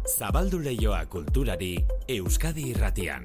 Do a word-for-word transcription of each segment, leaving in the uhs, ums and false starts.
Zabaldu leioa kulturari Euskadi Irratian.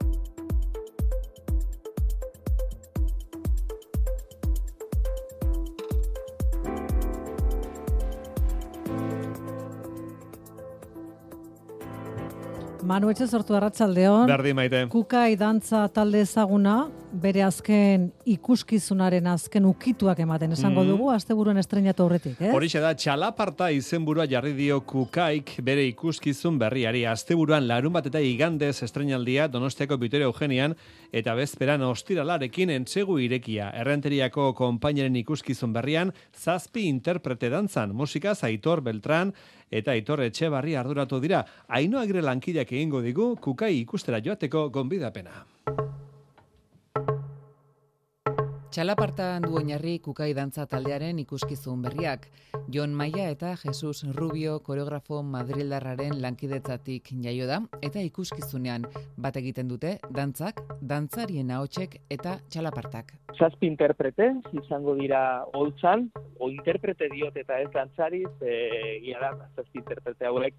Manu etxe sortu arratsaldeon. Berdi maite. Kukai dantza talde ezaguna, bere azken ikuskizunaren azken ukituak ematen esango Mm. dugu, asteburuen estreinatu aurretik, eh? Horixe da, txalaparta izenburua jarri dio Kukaik bere ikuskizun berriari. Asteburuan larun bat eta igandez estreinaldia Donostiako Vitoria Eugenian eta bezperan ostiralarekin entzegu irekia. Errenteriako konpaineren ikuskizun berrian, zazpi interprete dantzan, musikaz Aitor Beltran eta Aitor Etxebarri arduratu dira. Ainhoa Agirre lankideak egingo digu Kukai ikustera joateko gonbidapena. Txalapartan du oinarri Kukai dantza taldearen ikuskizun berriak. Jon Maia eta Jesus Rubio koreografo madrildarraren lankidetzatik jaio da eta ikuskizunean bat egiten dute dantzak, dantzarien ahotsek eta txalapartak. Zazpi interprete izango dira holtzan, o interprete diot eta ez dantzari, e, ia da, zazpi interprete hauek,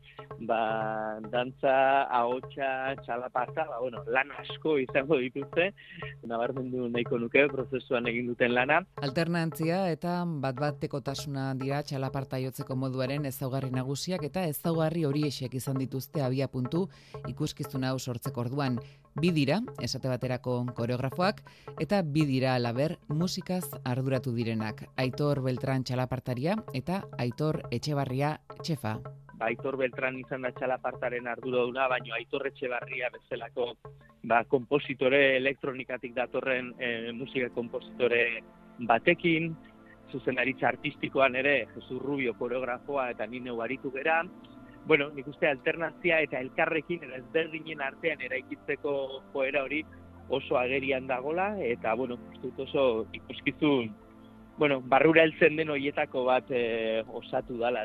ba, dantza, ahotsa, txalaparta, ba, bueno, lan asko izango dituzte, nabarmendu nahiko nuke prozesuan egin duten lana. Alternantzia eta bat-batekotasuna dira txalaparta jotzeko moduaren ezaugarri nagusiak eta ezaugarri horiexek izan dituzte abia puntu ikuskizuna hau sortzeko orduan. Bi dira, esate baterako koreografoak, eta bi dira alaber musikaz arduratu direnak. Aitor Beltran txalapartaria eta Aitor Etxebarria txefa. Aitor Beltran izan da txalapartaren arduraduna, baina Aitor Etxebarria bezalako ba, kompositore elektronikatik datorren e, musika kompositore batekin, zuzendaritza artistikoan ere, Jesus Rubio koreografoa eta ni neu aritu gera. Bueno, nik uste alternazia eta elkarrekin eta ezberdinen artean eraikitzeko joera hori oso agerian dagola, eta, bueno, uste oso ikuskizun, bueno, barrura heltzen den horietako bat e, osatu dala.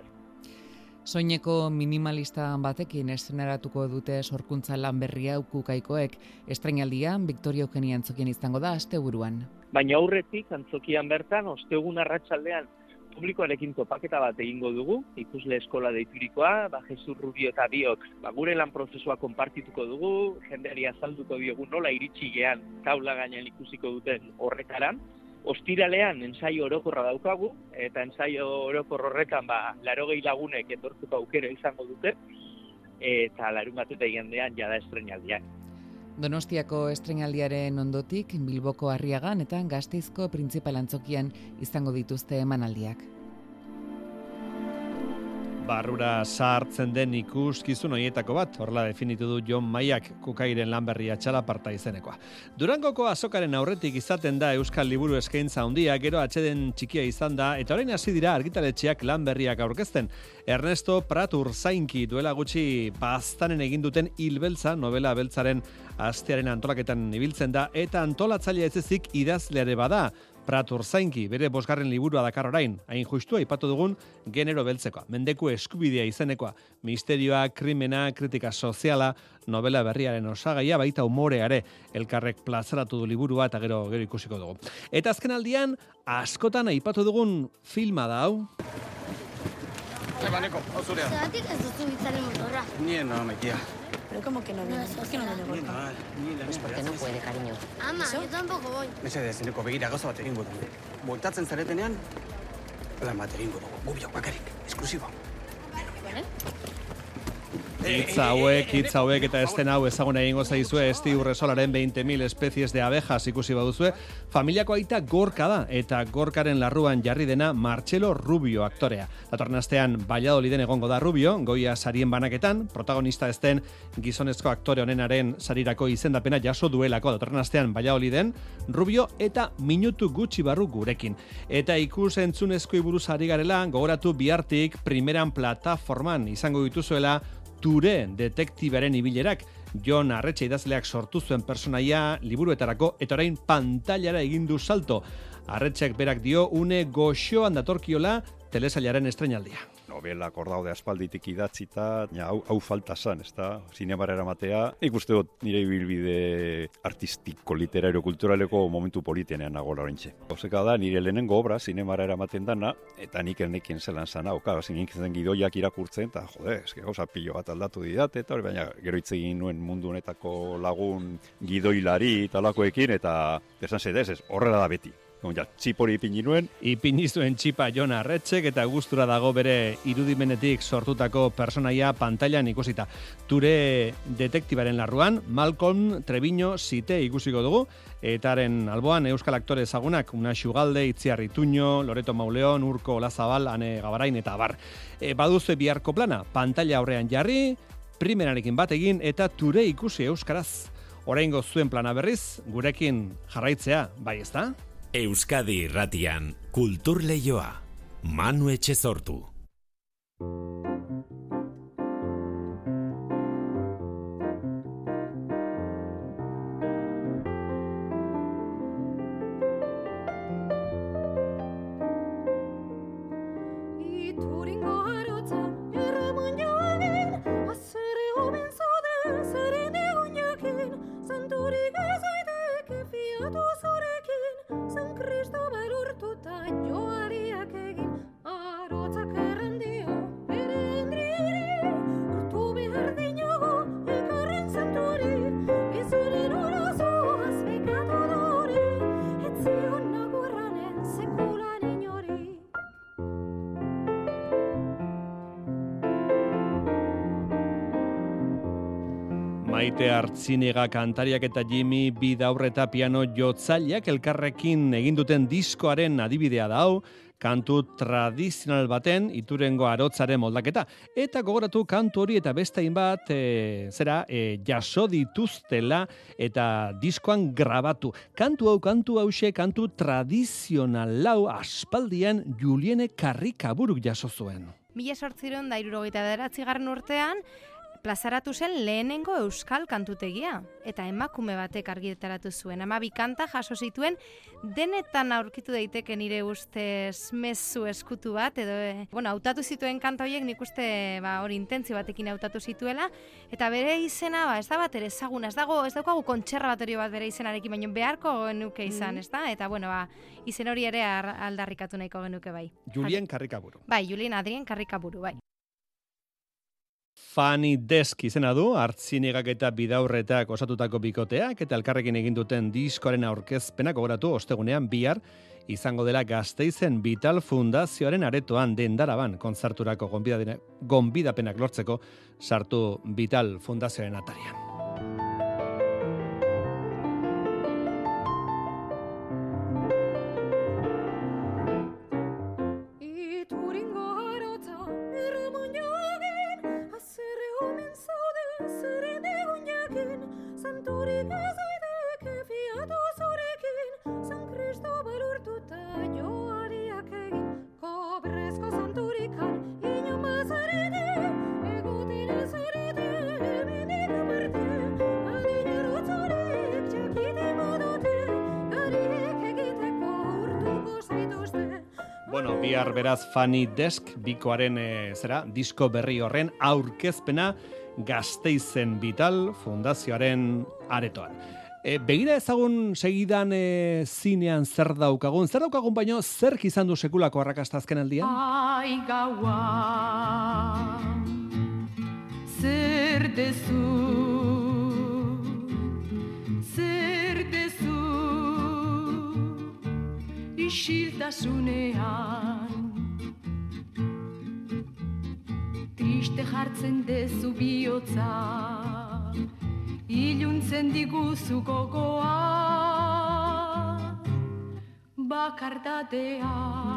Soineko minimalista batekin estrenaratuko dute sorkuntza lan berria Kukaikoek. Estreinaldian Victoria Eugenia antzokien izango da asteburuan. Baina aurretik antzokian bertan, ostegun arratsaldean publikoarekin topaketa bat egingo dugu, ikusle eskola deiturikoa, ba, Jesus Rubio eta biok, ba, gure lan prozesua konpartituko dugu, jendeari azalduko diogu nola iritsi gean taula gainean ikusiko duten horretara. Ostiralean ensaio orokorra daukagu, eta ensaio orokor horretan ba, laurogei lagunek etortzeko aukera izango dute, eta larun bat eta igandean jada estreinaldiak. Donostiako estreinaldiaren ondotik, Bilboko Arriagan eta Gasteizko Printzipal antzokian izango dituzte emanaldiak. Barrura sartzen den ikuskizun horietako bat, horrela definitu du Jon Maiak Kukairen lanberria txalaparta izenekoa. Durangoko azokaren aurretik izaten da Euskal Liburu eskaintza handia, gero atxeden txikia izan da, eta orain hasi dira argitaletxeak lanberriak aurkezten. Ernesto Prat Urzainki duela gutxi baztanen egin duten Hilbeltza, novela beltzaren astearen antolaketan ibiltzen da, eta antolatzailea ez ezik idazleare bada. Prat Urzainki bere bosgarren liburua dakar orain, hain justu aipatu dugun genero beltzekoa, mendeku eskubidea izenekoa, misterioa, krimena, kritika soziala, novela berriaren osagaia, baita umoreare, elkarrek plazaratu du liburua eta gero gero ikusiko dugu. Eta azken aldian, askotan aipatu dugun filma da hau. Ebaneko, hau zurea. Zeratik ez duzu bitzaren motorra. Nien no, maitia. Pero ¿cómo que no viene? ¿Por qué no viene Nien gorka? mal, nien Pues porque no puede, cariño. Ama, yo tampoco voy. Mesedez, eneko begira gauza bat egingo dugu. Bueltatzen zaretenean, lan bat egingo dugu. Gubiok bakarrik, esklusibo. Vale. Hitz hauek, hitz hauek eta esten hau ezaguna egingo zaizue Esti Urresolaren veinte mil especies de abejas ikusi baduzue. Familiako aita Gorka da eta Gorkaren larruan jarri dena Martxelo Rubio aktorea. Datorren astean Valladoliden egongo da Rubio, goia sarien banaketan, protagonista ez den gizonezko aktore honenaren sarirako izendapena jaso duelako. Datorren astean Valladoliden Rubio eta minutu gutxi barru gurekin. Eta ikus entzunezko buruz ari garela, gogoratu bihartik primeran plataforman izango dituzuela Ture detektibaren ibilerak. Jon Arretxe idazleak sortu zuen personaia liburuetarako eta orain pantailara egin du salto. Arretxek berak dio une goxoan datorkiola telesailaren estrenaldia. Novelak hor daude aspalditik idatzita, ja, hau, hau falta zan, ez da, zinemara eramatea. Nik uste dut nire ibilbide artistiko, literario, kulturaleko momentu politenean nagoela horintxe. Oseka da, nire lehenengo obra zinemara eramaten dana, eta nik ernekien zelan zan hau, ka, zinik zen gidoiak irakurtzen, eta jode, eske gauza pilo bat aldatu didate, eta hori baina gero hitz egin nuen mundu honetako lagun gidoilari talakoekin, eta esan zedez, ez, horrela da beti. Ja, txipori ipini nuen. Ipini zuen txipa Jon Arretxek eta gustura dago bere irudimenetik sortutako personaia pantailan ikusita. Ture detektibaren larruan, Malcolm Treviño Site ikusiko dugu, etaren alboan euskal aktore ezagunak, Unax Ugalde, Itziar Ituño, Loreto Mauleon, Urko Olazabal, Ane Gabarain eta abar. E, baduzue biharko plana, pantaila aurrean jarri, primerarekin bat egin eta Ture ikusi euskaraz. Oraingo zuen plana berriz, gurekin jarraitzea, bai ezta? Euskadi Irratian, Kultur Leioa, Manu Etxezortu. Maite Artziniega kantariak eta Jimmy Bidaurreta piano jotzaileak elkarrekin egin duten diskoaren adibidea da hau, kantu tradizional baten Iturengo Arotzaren moldaketa. Eta gogoratu kantu hori eta beste hainbat e, zera e, jaso dituztela eta diskoan grabatu. Kantu hau, kantu hause, kantu tradizional lau aspaldian Juliene Karrikaburuk jaso zuen. Mila sortziron da hirurogeita bederatzigarren urtean, plazaratu zen lehenengo euskal kantutegia, eta emakume batek argitaratu zuen. Hamabi kanta jaso zituen, denetan aurkitu daiteke nire ustez mezu eskutu bat, edo, e, bueno, hautatu zituen kanta horiek nik uste ba, hori intentzio batekin hautatu zituela, eta bere izena, ba, ez da bat ere ezaguna, ez dago, ez daukagu kontserbatorio bat bere izenarekin, baina beharko genuke izan, mm. ez da? Eta, bueno, ba, izen hori ere aldarrikatu nahiko genuke bai. Julien Karrikaburu. Bai, Julien Adrien Karrikaburu, bai. Funny Desk izena du, Artzinegak eta Bidaurretak osatutako bikoteak eta elkarrekin egin duten diskoaren aurkezpenak gogoratu ostegunean bihar izango dela Gasteizen Vital Fundazioaren aretoan Dendaraban kontzerturako gonbidapenak lortzeko sartu Vital Fundazioaren atarian. Bueno, bihar beraz Funny Desk bikoaren e, zera, disko berri horren aurkezpena Gasteizen Vital Fundazioaren aretoan. E, begira ezagun segidan e, zinean zer daukagun, zer daukagun baino zerk izan du sekulako arrakasta azken aldian? Ai gaua, zer dezu, zer dezu, isiltasunean, triste jartzen dezu bihotza, iluntzen diguzu gogoa, bakardatea.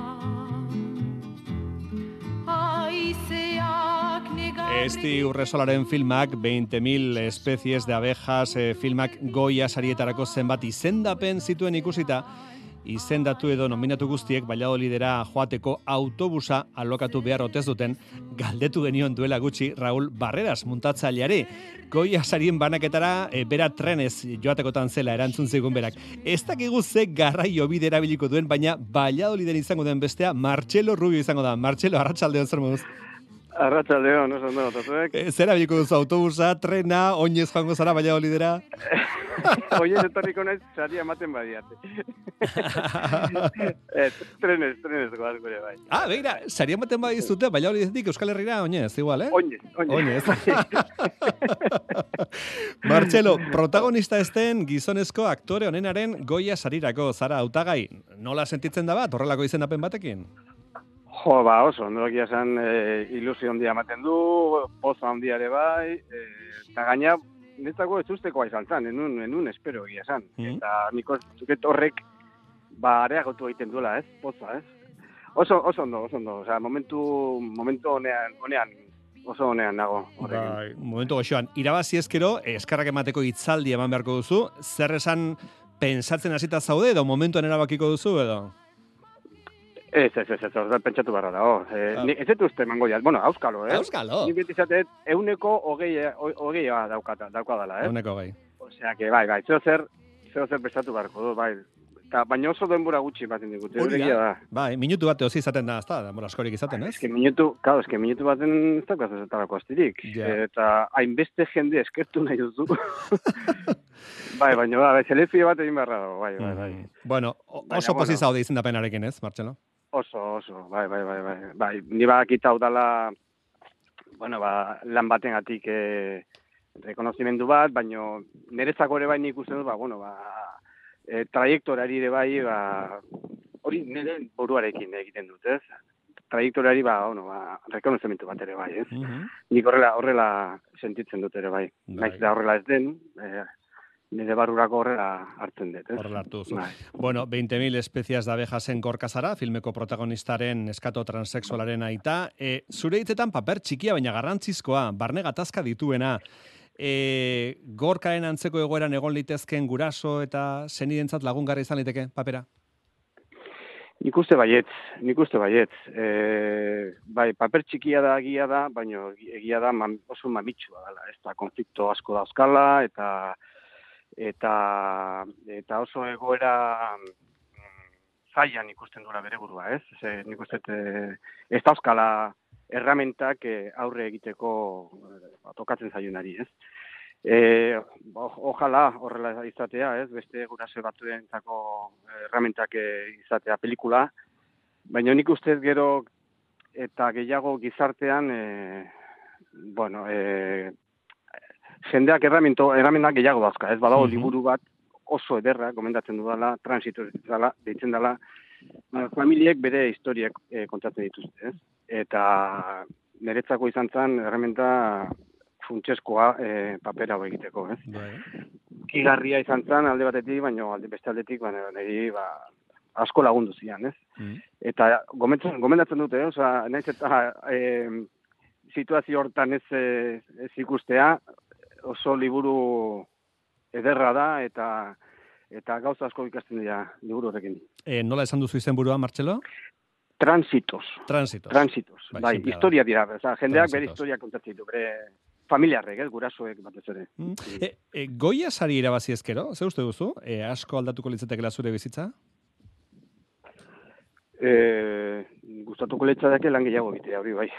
Aizeak negarri... Esti Urresolaren filmak, veinte mil especies de abejas, eh, filmak Goya sarietarako zenbat izendapen zituen ikusita, izendatu edo nominatu guztiek Valladolidera joateko autobusa alokatu behar otez duten galdetu genion duela gutxi Raúl Barreras muntatzaileari. Goia sarien banaketara e, bera trenez joatekotan zela erantzun zigun berak. Ez dakigu ze garraio bide erabiliko duen, baina Valladoliden izango den bestea Martxelo Rubio izango da. Martxelo, arratsaldeon zer moduz? Arratsaldeon, oso ondo, tatuek. E, zer erabiliko duzu autobusa, trena, oinez joango zara Valladolidera? Oinez etorriko naiz saria ematen badiate. eh, trenez, trenez goaz gure bai. Ah, begira, saria ematen badizute Valladolidetik Euskal Herrira oinez, igual, eh? Oinez, oinez. Martxelo, protagonista esten gizonezko aktore honenaren Goya sarirako zara hautagai. Nola sentitzen da bat, horrelako izendapen batekin? Jo, ba, oso, ondokia esan e, ilusio handia ematen du, poza handia ere bai, e, eta gaina, netzako ez ustekoa izan zan, enun, enun espero egia esan. Mm. Eta niko zuket horrek, ba, areagotu egiten duela, ez, poza, ez. Oso, oso ondo, oso ondo, osea, momentu, momentu honean, honean, oso honean nago. Bai, momentu goxoan, irabazi ezkero, eskarrak emateko hitzaldi eman beharko duzu, zer esan pensatzen hasita zaude, edo momentuan erabakiko duzu, edo? Ez, ez, ez, ez, ez, pentsatu barra da, oh. Eh, ah. Ez dut uste emango jat, bueno, auskalo, eh? Auskalo? Ni beti zatet, euneko hogeia, hogeia daukata, daukadala, eh? Euneko hogei. Osea, que, bai, bai, zeo zer, zeo zer prestatu barko du, bai. Ta, baina oso denbora gutxi baten digute, euregia da. Bai, minutu bat eozi izaten da, ez da, denbora askorik izaten, ez? Ez que minutu, claro, ez que minutu baten ez daukaz ezetarako astirik. Yeah. Eta hainbeste jende eskertu nahi duzu. Bai, baina, bai, selezio bat egin beharra dago, bai, bai, bai. Mm. Bueno, oso bueno, pozi zaude izendapenarekin, ez, Martxelo? Oso, oso, bai, bai, bai, bai, bai, ni bakita udala, bueno, ba, lan batengatik eh, rekonozimendu bat, baino nerezako ere bai nik uste dut, ba, bueno, ba, e, trajektorari ere bai, ba, hori nire buruarekin egiten dut, ez? Trajektorari, ba, bueno, ba, rekonozimendu bat ere bai, ez? Mm-hmm. Nik horrela, horrela sentitzen dut ere bai, bai. Naiz da horrela ez den, eh, nire barrurako horrela hartzen dut, ez? Horrela hartu zu. Bueno, veinte mil espezias de abejasen gorka zara, filmeko protagonistaren eskato transexualaren aita. E, zure hitzetan paper txikia, baina garrantzizkoa, barne gatazka dituena. E, gorkaren antzeko egoeran egon litezken guraso eta senidentzat lagungarri izan liteke papera? Nik uste baietz, nik uste baietz. E, bai, paper txikia da, egia da, baina egia da man, oso mamitsua dela. Ez da, konflikto asko dauzkala, eta eta eta oso egoera zailan ikusten duela bere burua, ez? Ze, nik uste ez dauzkala erramentak aurre egiteko tokatzen zaionari, ez? E, ojala horrela izatea, ez? Beste guraso batzuentzako erramentak izatea pelikula, baina nik uste gero eta gehiago gizartean e, bueno, e, jendeak erramento, erramenak gehiago dauzka, ez badago liburu bat oso ederra, gomendatzen dudala, transito dela, deitzen dela, familiek bere historiak e, kontatzen dituzte, ez? Eta niretzako izan zen erramenta funtseskoa e, papera hau egiteko, ez? Kigarria izan zen alde batetik, baina alde beste aldetik, baina niri ba, asko lagundu zian, ez? Mm. Eta gomendatzen dute, eh? Osa, nahiz eta e, situazio hortan ez, ez ikustea, oso liburu ederra da, eta eta gauza asko ikasten dira liburu horrekin. E, nola esan duzu izenburua, Martxelo? Transitos. Transitos. Transitos. Bai, bai historia dira. Oza, jendeak bere historia kontatzen ditu, bere familiarrek, eh, gurasoek batez ere. Mm. E, e, Goya sari irabazi ezkero, ze uste duzu? E, asko aldatuko litzatekela zure bizitza? Eh, gustatuko litzateke lan gehiago egitea hori, bai.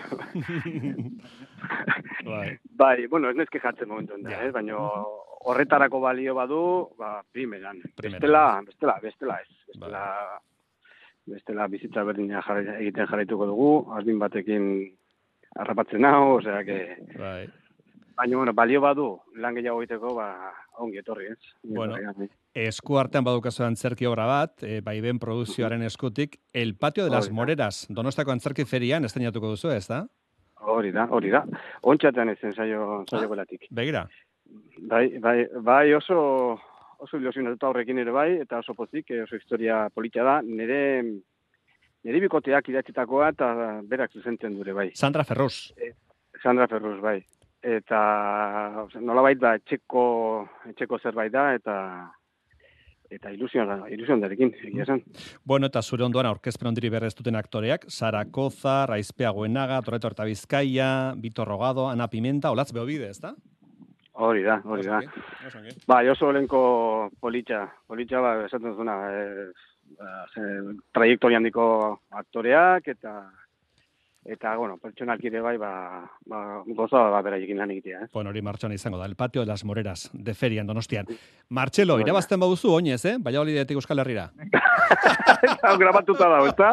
bai. Bai, bueno, ez nezke jatzen momentu enda, eh? Baina horretarako balio badu, ba, primeran. Bestela, bestela, bestela ez. Bestela, bestela bizitza berdina jarri, egiten jarraituko dugu, arbin batekin harrapatzen hau, osea, que... Bai. Baina, bueno, balio badu, lan gehiago egiteko, ba, ongi etorri, ez? Bueno, esku artean badukazu antzerki obra bat, e, bai ben produzioaren eskutik, El Patio de las Moreras, Donostako antzerki ferian estrenatuko duzu, ez da? Hori da, hori da. Ontxatean ez ensaio saio belatik. Begira. Bai, bai, bai oso, oso ilusionatuta horrekin ere bai, eta oso pozik, oso historia politia da, nire... Nire bikoteak idatzitakoa eta berak zuzentzen dure, bai. Sandra Ferrus. E, Sandra Ferrus, bai. Eta nolabait da etxeko, etxeko zerbait da, eta eta ilusioa, ilusionarekin, egia esan. Bueno, eta zure ondoan aurkezpen ondiri berrez duten aktoreak, Sara Koza, Raizpea Goenaga, Torreto Horta Bizkaia, Vitor Rogado, Ana Pimenta, Olatz Beobide, ez da? Hori da, hori da. Ba, Josu Olenko politxa, politxa, ba, esaten zuna, e, trajektoria handiko aktoreak, eta Eta, bueno, pertsonalki ere bai, ba, ba, goza ba, beraiekin lan egitea. Eh? Bueno, hori martxoan izango da, el patio de las Moreras, de ferian, Donostian. Martxelo, irabazten baduzu, oinez, eh? Valladolidetik Euskal Herrira. Hau grabatuta dago, ezta?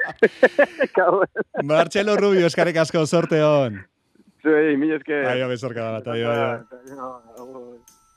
Martxelo Rubio, eskarek asko, sorte hon. Sí, mi eske. Aio, bezorka da bat, aio, aio.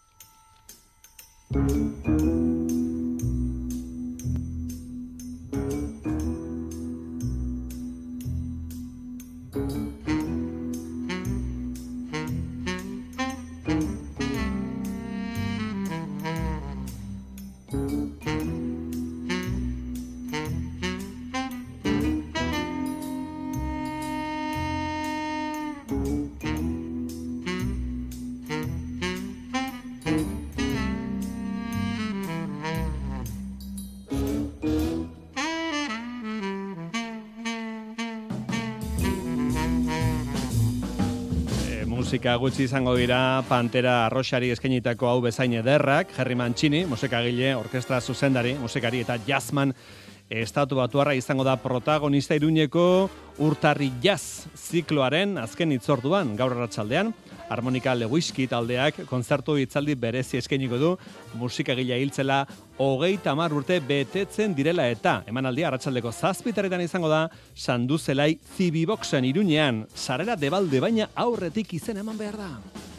Musika gutxi izango dira Pantera Arroxari eskainitako hau bezain ederrak, Jerry Mancini, musikagile, orkestra zuzendari, musikari eta jazzman estatu batuarra izango da protagonista Iruñeko Urtarri Jazz zikloaren azken hitzorduan gaur arratsaldean. Harmonika Lewiski taldeak kontzertu hitzaldi berezi eskainiko du musikagilea hiltzela hogeita hamar urte betetzen direla eta emanaldia arratsaldeko zazpitaretan izango da Sanduzelai Zibiboxen Iruñean, sarrera debalde baina aurretik izen eman behar da.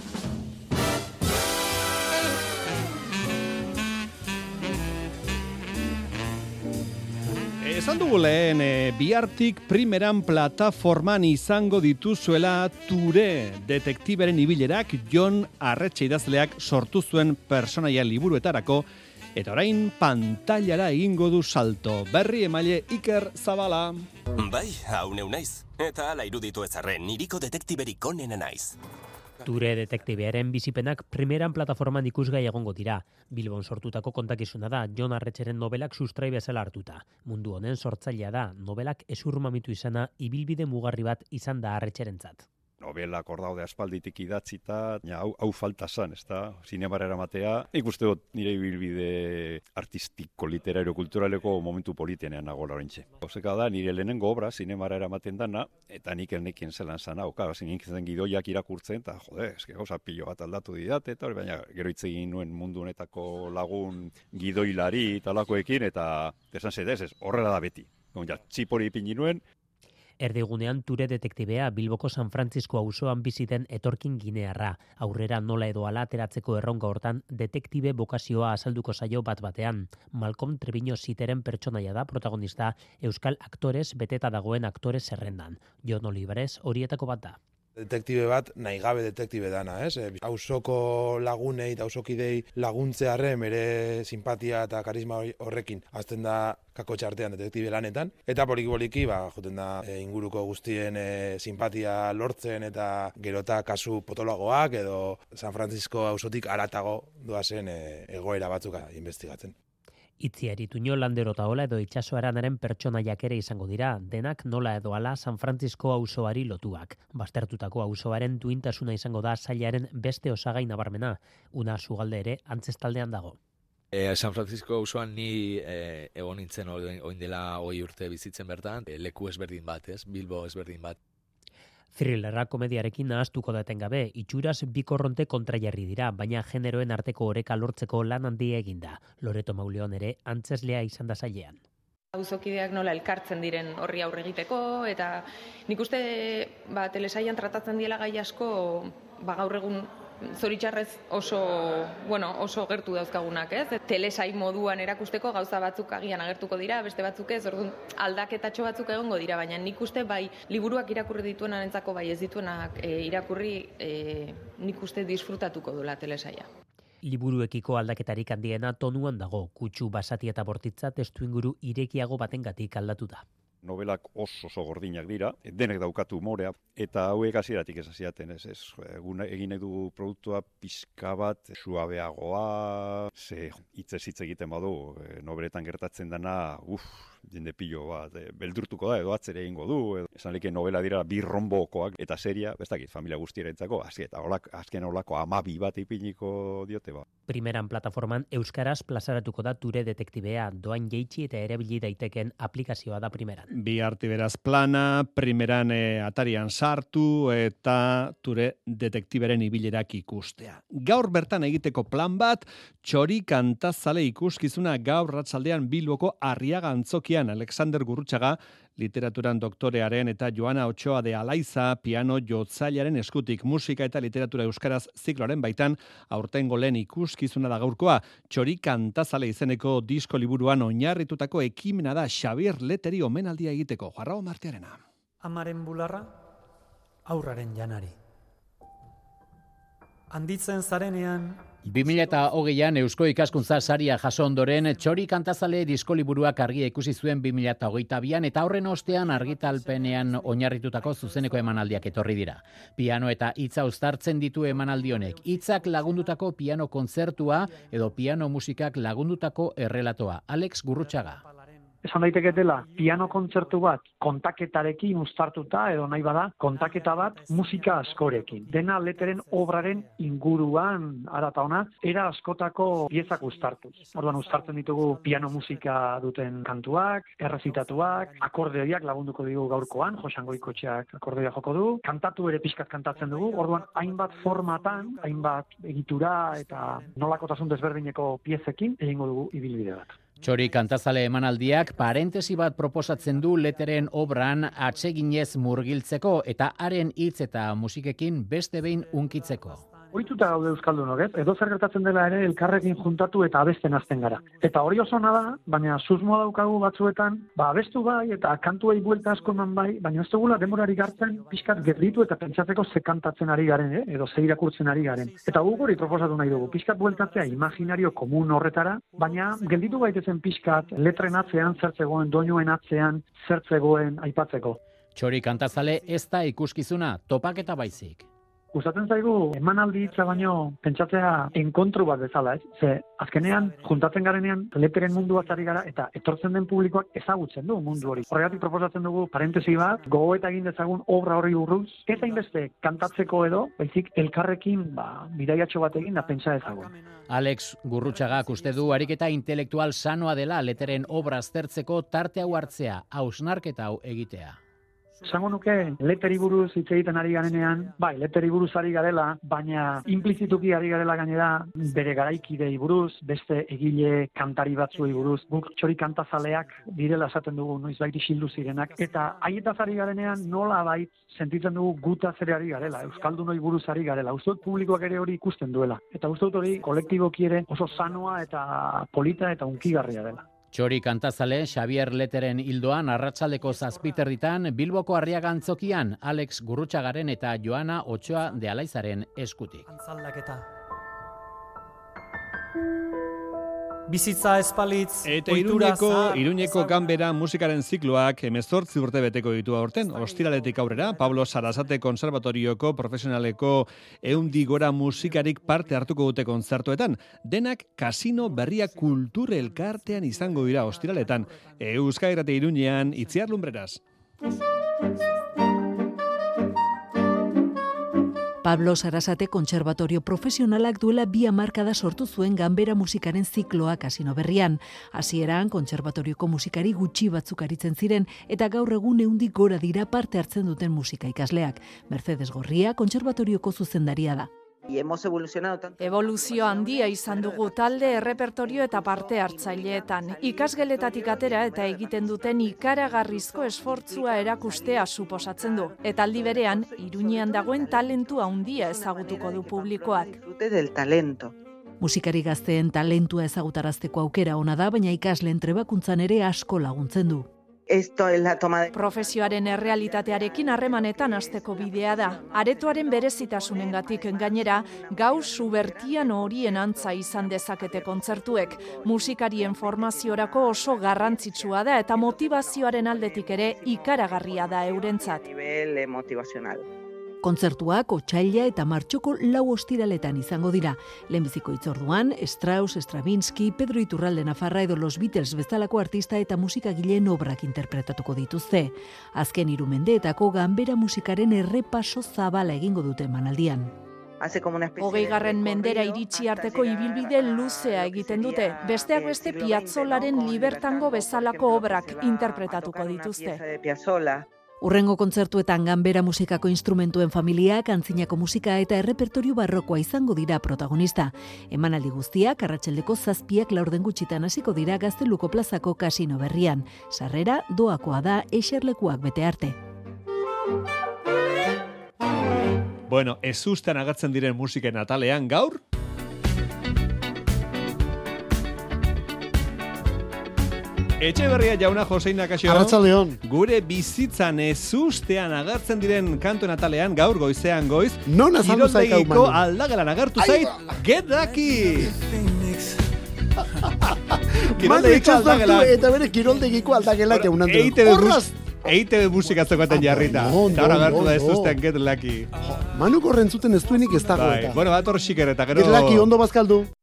Esan dugu lehen, e, bihartik primeran plataforman izango dituzuela Ture detektiberen ibilerak Jon Arretxe idazleak sortu zuen personaia liburuetarako, eta orain pantailara egingo du salto. Berri emaile Iker Zabala. Bai, hau neu naiz. Eta ala iruditu ezarren, niriko detektiberik onena naiz. Ture detektibearen bizipenak primeran plataforman ikusgai egongo dira. Bilbon sortutako kontakizuna da, Jon Arretxeren nobelak sustrai bezala hartuta. Mundu honen sortzailea da, nobelak ezurmamitu izana ibilbide mugarri bat izan da Arretxerentzat. Nobelak hor daude aspalditik idatzita, ja, hau, hau falta zan, ez da, zinemara eramatea. Nik uste dut nire ibilbide artistiko, literario, kulturaleko momentu politenean nagoela horintxe. Oseka da, nire lehenengo obra zinemara eramaten dana, eta nik elnekien zelan zan hau. Ka, nik zen gidoiak irakurtzen, eta jode, eske gauza pilo bat aldatu didate, eta hori baina gero hitz egin nuen mundu honetako lagun gidoilari talakoekin, eta esan zedez, ez, horrela da beti. Ja, txipori ipini nuen. Erdigunean Ture detektibea Bilboko San Francisco auzoan biziten etorkin ginearra. Aurrera nola edo ala ateratzeko erronka hortan detektibe bokazioa azalduko zaio bat batean. Malcolm Treviño Ziteren pertsonaia da protagonista euskal aktorez beteta dagoen aktore zerrendan. Jon Olivares horietako bat da. Detektibe bat, nahi gabe detektibe dana, ez? Hausoko lagunei eta hausokidei laguntzearren bere simpatia eta karisma horrekin azten da kakotxa artean detektibe lanetan. Eta poliki-poliki, ba, joten da e, inguruko guztien e, simpatia lortzen eta gerota kasu potoloagoak edo San Francisco hausotik haratago doazen e, egoera batzuk investigatzen. Itziari Tuño Landero eta Ola edo Itxaso Aranaren pertsonaiak ere izango dira, denak nola edo ala San Francisco auzoari lotuak. Baztertutako auzoaren duintasuna izango da sailaren beste osagai nabarmena, una sugalde ere antzestaldean dago. E, San Francisco auzoan ni e, egon nintzen oin dela hogei urte bizitzen bertan, e, leku ezberdin bat, ez? Bilbo ezberdin bat. Thrillerra komediarekin nahaztuko daten gabe, itxuraz bikorronte kontrajarri dira, baina generoen arteko oreka lortzeko lan handia eginda. Loreto Mauleon ere antzeslea izan da zailean. Auzokideak nola elkartzen diren horri aurre egiteko, eta nik uste ba, telesailan tratatzen diela gai asko ba, gaur egun zoritxarrez oso, bueno, oso gertu dauzkagunak, ez? Telesai moduan erakusteko gauza batzuk agian agertuko dira, beste batzuk ez, orduan aldaketatxo batzuk egongo dira, baina nik uste bai liburuak irakurri dituenarentzako bai ez dituenak e, irakurri e, nik uste disfrutatuko duela telesaia. Liburuekiko aldaketarik handiena tonuan dago, kutsu basati eta bortitza testu inguru irekiago batengatik aldatu da. Novelak oso oso gordinak dira, denek daukatu umorea, eta hauek hasieratik ez hasiaten, ez, ez, egun egin nahi dugu produktua pixka bat, suabeagoa, ze hitzez hitz egiten badu, nobeletan gertatzen dana, uff, jende pilo bat, e, beldurtuko da, edo atzere egingo du, edo, esan leke novela dira bi rombokoak, eta seria, ez dakit, familia guztierentzako, azken, eta olak, azken olako amabi bat ipiniko diote ba. Primeran plataforman euskaraz plazaratuko da Ture detektibea, doan jeitsi eta erabili daiteken aplikazioa da primeran. Bi arti beraz plana, primeran e, atarian sartu eta Ture detektiberen ibilerak ikustea. Gaur bertan egiteko plan bat, Txori kantazale ikuskizuna gaur ratzaldean Bilboko Arriaga Antzokian Alexander Gurrutxaga, literaturan doktorearen eta Joana Otxoa de Alaiza piano jotzailaren eskutik musika eta literatura euskaraz zikloaren baitan aurtengo lehen ikuskizuna da gaurkoa. Txori kantazale izeneko disko liburuan oinarritutako ekimena da Xabier Leteri omenaldia egiteko. Jarrao Martiarena. Amaren bularra, aurraren janari. Handitzen zarenean... bi mila hogeian Eusko Ikaskuntza saria jaso ondoren Txori kantazale diskoliburuak argia ikusi zuen bi mila hogeita bian eta horren ostean argitalpenean oinarritutako zuzeneko emanaldiak etorri dira. Piano eta hitza uztartzen ditu emanaldi honek. Hitzak lagundutako piano kontzertua edo piano musikak lagundutako errelatoa. Alex Gurrutxaga. Esan daiteke dela, piano kontzertu bat kontaketarekin uztartuta edo nahi bada, kontaketa bat musika askorekin. Dena Leteren obraren inguruan arata ona, era askotako piezak uztartuz. Orduan uztartzen ditugu piano musika duten kantuak, errezitatuak, akordeoiak lagunduko digu gaurkoan, Joxan Goikotxeak akordeoia joko du, kantatu ere pixkat kantatzen dugu, orduan hainbat formatan, hainbat egitura eta nolakotasun desberdineko piezekin egingo dugu ibilbide bat. Txori kantazale emanaldiak parentesi bat proposatzen du Leteren obran atseginez murgiltzeko eta haren hitz eta musikekin beste behin hunkitzeko. Ohituta gaude euskaldunok, ez? Edo zer gertatzen dela ere elkarrekin juntatu eta abesten hasten gara. Eta hori oso ona da, baina susmo daukagu batzuetan, ba abestu bai eta kantuei buelta asko eman bai, baina ez dugula denborari gartzen pixkat gelditu eta pentsatzeko ze kantatzen ari garen, eh? Edo ze irakurtzen ari garen. Eta guk hori proposatu nahi dugu, pixkat bueltatzea imaginario komun horretara, baina gelditu gaitezen pixkat letren atzean zertzegoen, doinuen atzean zertzegoen aipatzeko. Txori kantazale ez da ikuskizuna, topaketa baizik. Gustatzen zaigu emanaldi hitza baino pentsatzea enkontru bat bezala, ez? Ze azkenean juntatzen garenean Leteren munduaz ari gara eta etortzen den publikoak ezagutzen du mundu hori. Horregatik proposatzen dugu parentesi bat, gogoeta egin dezagun obra horri buruz, ez hainbeste kantatzeko edo, baizik elkarrekin ba bidaiatxo bat egin da pentsa ezagun. Alex Gurrutxagak uste du ariketa intelektual sanoa dela Leteren obra aztertzeko tarte hau hartzea, hausnarketa hau egitea. Esango nuke, Leteri buruz hitz egiten ari garenean, bai, Leteri buruz ari garela, baina implizituki ari garela gainera bere garaikidei buruz, beste egile kantari batzuei buruz, guk Txori kantazaleak direla esaten dugu, noizbait isildu zirenak, eta haietaz ari garenean nola bait sentitzen dugu gutaz ere ari garela, euskaldunoi buruz ari garela, uste dut publikoak ere hori ikusten duela, eta uste dut hori kolektiboki ere oso sanoa eta polita eta hunkigarria dela. Txori kantazale, Xabier Leteren hildoan arratsaldeko zazpiterritan Bilboko Arriaga Antzokian Alex Gurrutxagaren eta Joana Otxoa de Alaizaren eskutik. Antzaldaketa. Bizitza espalitz, eta Iruñeko, Iruñeko ganbera musikaren zikloak hemezortzi urte beteko ditu aurten. Ostiraletik aurrera, Pablo Sarasate Konservatorioko profesionaleko eundi gora musikarik parte hartuko dute kontzertuetan. Denak kasino berria kultur elkartean izango dira ostiraletan. Euskadi Irrati Iruñean, Itziar Lumbreras. Pablo Sarasate Kontserbatorio Profesionalak duela bi hamarkada sortu zuen ganbera musikaren zikloa kasino berrian. Hasieran Kontserbatorioko musikari gutxi batzuk aritzen ziren eta gaur egun ehundik gora dira parte hartzen duten musika ikasleak. Mercedes Gorria Kontserbatorioko zuzendaria da. Y hemos evolucionado tanto. Evoluzio handia izan dugu talde, errepertorio eta parte hartzaileetan. Ikasgeletatik atera eta egiten duten ikaragarrizko esfortzua erakustea suposatzen du. Eta aldi berean, Iruñean dagoen talentua handia ezagutuko du publikoak. Del talento. Musikari gazteen talentua ezagutarazteko aukera ona da, baina ikasleen trebakuntzan ere asko laguntzen du. Esto es la toma de... Profesioaren errealitatearekin harremanetan hasteko bidea da. Aretoaren berezitasunengatik gainera, gau subertian horien antza izan dezakete kontzertuek. Musikarien formaziorako oso garrantzitsua da eta motivazioaren aldetik ere ikaragarria da eurentzat. Nivel motivazional. Kontzertuak otsaila eta martxoko lau ostiraletan izango dira. Lehenbiziko hitzorduan, Strauss, Stravinsky, Pedro Iturralde Nafarra edo Los Beatles bezalako artista eta musikagileen obrak interpretatuko dituzte. Azken hiru mendeetako ganbera musikaren errepaso zabala egingo dute emanaldian. Hogeigarren mendera iritsi arteko ibilbide luzea egiten dute. Besteak beste Piazzolaren Libertango bezalako obrak interpretatuko dituzte. Urrengo kontzertuetan ganbera musikako instrumentuen familiak, antzinako musika eta errepertorio barrokoa izango dira protagonista. Emanaldi guztiak arratsaldeko zazpiak laurden gutxitan hasiko dira Gazteluko plazako kasino berrian. Sarrera doakoa da eserlekuak bete arte. Bueno, ezustean agertzen diren musiken atalean gaur, Etxeberria jauna Joseina Kaxo. Arratsaldeon. Gure bizitzan ezustean agertzen diren kantuen atalean gaur goizean goiz. Non azaldu zaika Kiroldegiko aldagalan agertu zait Get Lucky. Kiroldegiko aldagalan. Eta bere kiroldegiko aldagelak eunan du. Horraz! E I T B musika zegoetan jarrita. Eta hora agertu da ezustean Get Lucky. Manu korrentzuten ez duenik ez dago eta. Bueno, bat hor xiker eta gero... Get Lucky ondo bazkaldu.